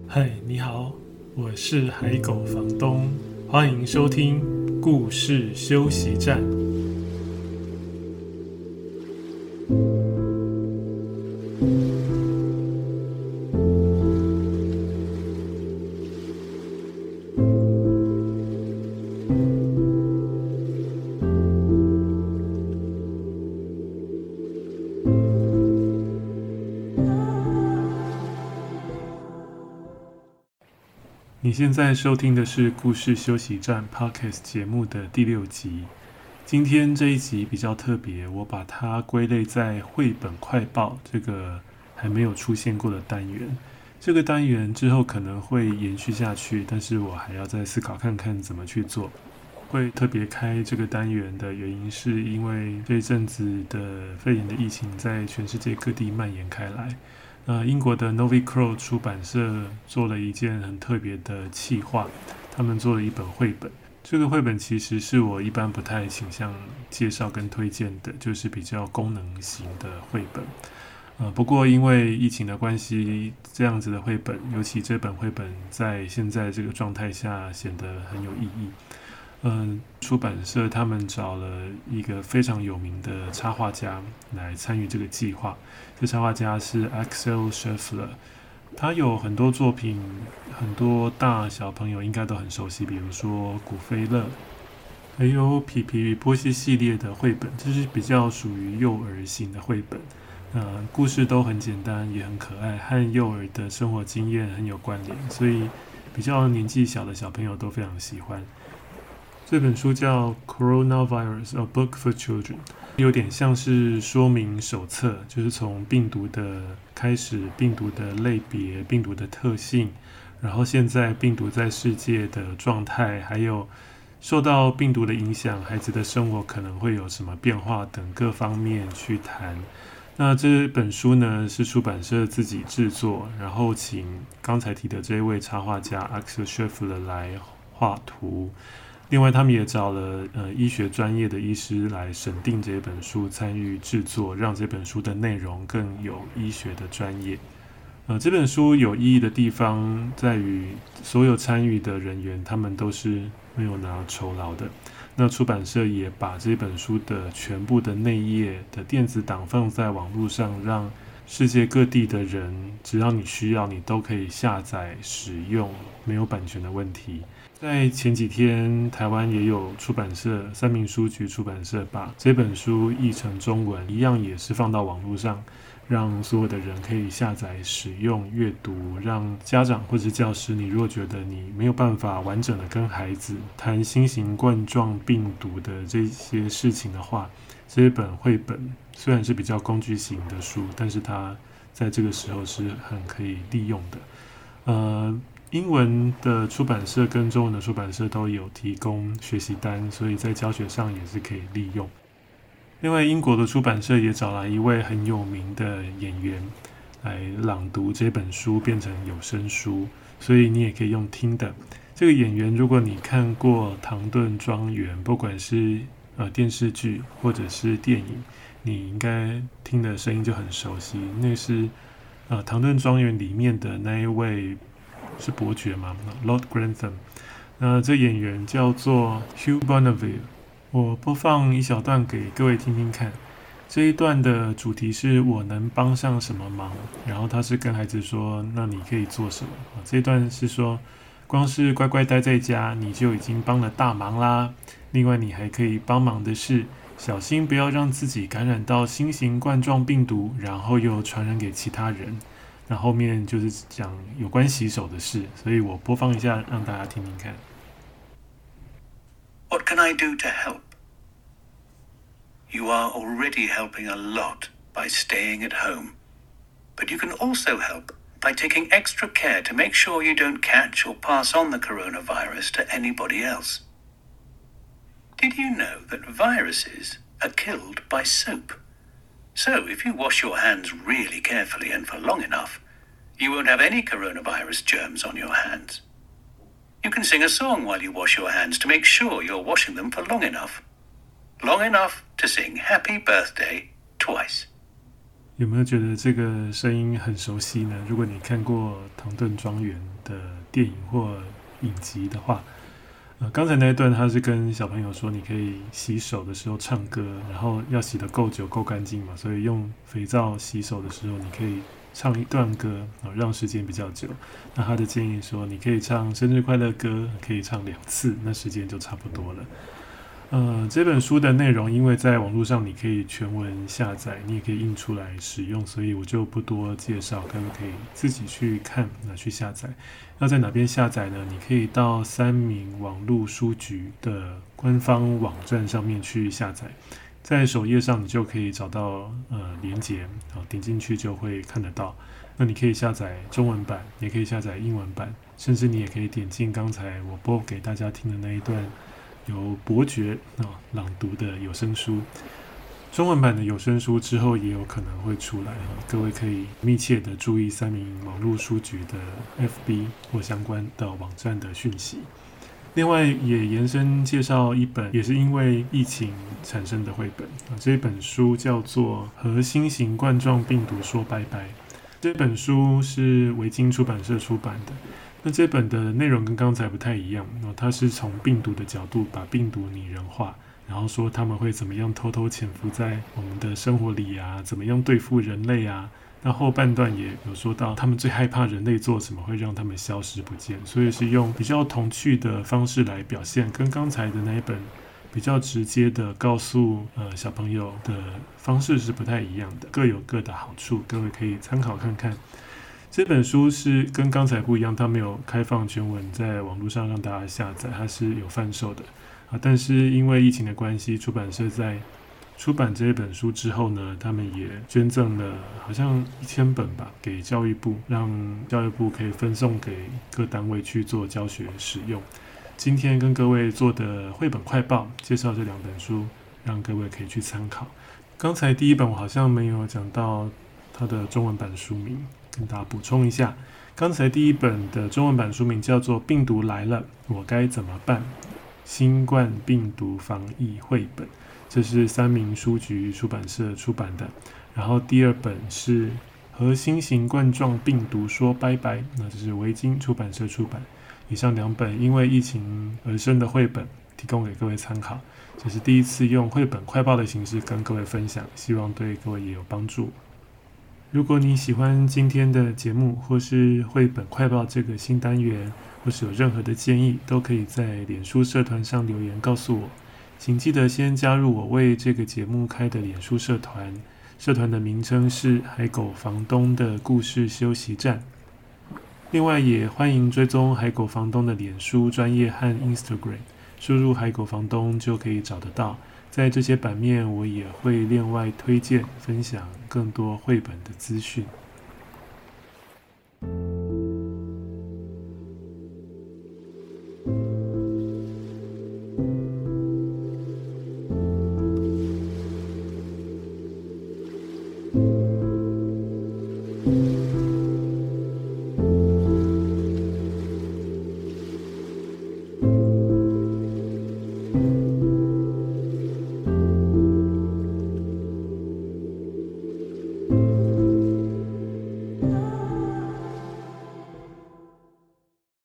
嗨，你好，我是海狗房東，歡迎收聽故事休息站。你現在收聽的是故事休息站 Podcast 節目的第6集。今天這一集比較特別，我把它歸類在繪本快報這個還沒有出現過的單元。這個單元之後可能會延續下去，但是我還要再思考看看怎麼去做。會特別開這個單元的原因，是因為這一陣子的肺炎的疫情在全世界各地蔓延開來。英國的 Novi Crow 出版社做了一件很特別的企劃，他們做了一本繪本。這個繪本其實是我一般不太傾向介紹跟推薦的，就是比較功能型的繪本。不過因為疫情的關係，這樣子的繪本，尤其這本繪本在現在這個狀態下顯得很有意義。出版社他們找了一個非常有名的插畫家來參與這個計劃。這插畫家是 Axel Scheffler， 他有很多作品，很多大小朋友應該都很熟悉，比如說古飛樂，還有皮皮與波西系列的繪本，這是比較屬於幼兒型的繪本。故事都很簡單，也很可愛，和幼兒的生活經驗很有關聯，所以比較年紀小的小朋友都非常喜歡。這本書叫 Coronavirus: A Book for Children， 有點像是說明手冊，就是從病毒的開始，病毒的類別，病毒的特性，然後現在病毒在世界的狀態，還有受到病毒的影響，孩子的生活可能會有什麼變化等各方面去談。那這本書呢，是出版社自己制作，然後請剛才提的這位插畫家 Axel Scheffler 來畫圖。另外，他們也找了醫學專業的醫師來審定這本書，參與制作，讓這本書的內容更有醫學的專業。這本書有意義的地方在於，所有參與的人員他們都是沒有拿酬勞的。那出版社也把這本書的全部的內頁的電子檔放在網絡上，讓世界各地的人，只要你需要，你都可以下載使用，沒有版權的問題。在前幾天，台灣也有出版社，三民書局出版社把這本書譯成中文，一樣也是放到網絡上，讓所有的人可以下載、使用、閱讀。讓家長或是教師，你如果覺得你沒有辦法完整的跟孩子談新型冠狀病毒的這些事情的話，這本繪本雖然是比較工具型的書，但是它在這個時候是很可以利用的。英文的出版社跟中文的出版社都有提供學習單，所以在教學上也是可以利用。另外，英國的出版社也找來一位很有名的演員來朗讀這本書，變成有聲書，所以你也可以用聽的。這個演員，如果你看過《唐頓莊園》，不管是電視劇或者是電影，你應該聽的聲音就很熟悉。那是《唐頓莊園》裡面的那一位。是伯爵嗎 ？Lord Grantham。那這演員叫做 Hugh Bonneville。我播放一小段給各位聽聽看。這一段的主題是我能幫上什麼忙，然後他是跟孩子說：“那你可以做什麼？”這一段是說，光是乖乖待在家，你就已經幫了大忙啦。另外，你還可以幫忙的是，小心不要讓自己感染到新型冠狀病毒，然後又傳染給其他人。那後面就是講有關洗手的事，所以我播放一下，讓大家聽聽看。 What can I do to help? You are already helping a lot by staying at home, but you can also help by taking extra care to make sure you don't catch or pass on the coronavirus to anybody else. Did you know that viruses are killed by soap?So, if you wash your hands really carefully and for long enough, you won't have any coronavirus germs on your hands. You can sing a song while you wash your hands to make sure you're washing them for long enough. Long enough to sing Happy Birthday twice. 有沒有覺得這個聲音很熟悉呢？如果你看過《唐頓莊園》的電影或影集的話，剛才那一段他是跟小朋友說，你可以洗手的時候唱歌，然後要洗得夠久夠乾淨嘛，所以用肥皂洗手的時候，你可以唱一段歌，讓時間比較久。那他的建議說，你可以唱生日快樂歌，可以唱2次，那時間就差不多了。這本書的內容，因為在網絡上你可以全文下載，你也可以印出來使用，所以我就不多介紹，各位可以自己去看，去下載。要在哪邊下載呢？你可以到三民網絡書局的官方網站上面去下載，在首頁上你就可以找到連結，點進去就會看得到。那你可以下載中文版，也可以下載英文版，甚至你也可以點進剛才我播給大家聽的那一段由伯爵朗讀的有聲書。中文版的有聲書之後也有可能會出來，各位可以密切的注意三民網絡書局的 FB 或相關的網站的訊息。另外也延伸介紹一本也是因為疫情產生的繪本，這本書叫做《和新型冠狀病毒說拜拜》。這本書是維京出版社出版的。那這本的內容跟剛才不太一樣，它是從病毒的角度把病毒擬人化，然後說他們會怎麼樣偷偷潛伏在我們的生活裡啊，怎麼樣對付人類啊。那後半段也有說到他們最害怕人類做什麼會讓他們消失不見，所以是用比較童趣的方式來表現，跟剛才的那一本比較直接的告訴小朋友的方式是不太一樣的，各有各的好處，各位可以參考看看。這本書是跟剛才不一樣，它沒有開放全文在網絡上讓大家下載，它是有販售的但是因為疫情的關係，出版社在出版這本書之後呢，他們也捐贈了好像1000本吧給教育部，讓教育部可以分送給各單位去做教學使用。今天跟各位做的繪本快報介紹這2本書，讓各位可以去參考。剛才第一本我好像沒有講到它的中文版書名，跟大家補充一下，剛才第一本的中文版書名叫做《病毒來了，我該怎麼辦？新冠病毒防疫繪本》，這是三民書局出版社出版的。然後第2本是《和新型冠狀病毒說拜拜》，那這是維京出版社出版。以上2本因為疫情而生的繪本，提供給各位參考。這是第一次用繪本快報的形式跟各位分享，希望對各位也有幫助。如果你喜歡今天的節目，或是繪本快報這個新單元，或是有任何的建議，都可以在臉書社團上留言告訴我。請記得先加入我為這個節目開的臉書社團，社團的名稱是海狗房東的故事休息站。另外也歡迎追蹤海狗房東的臉書專頁和 Instagram， 輸入海狗房東就可以找得到。在這些版面，我也會另外推薦分享更多繪本的資訊。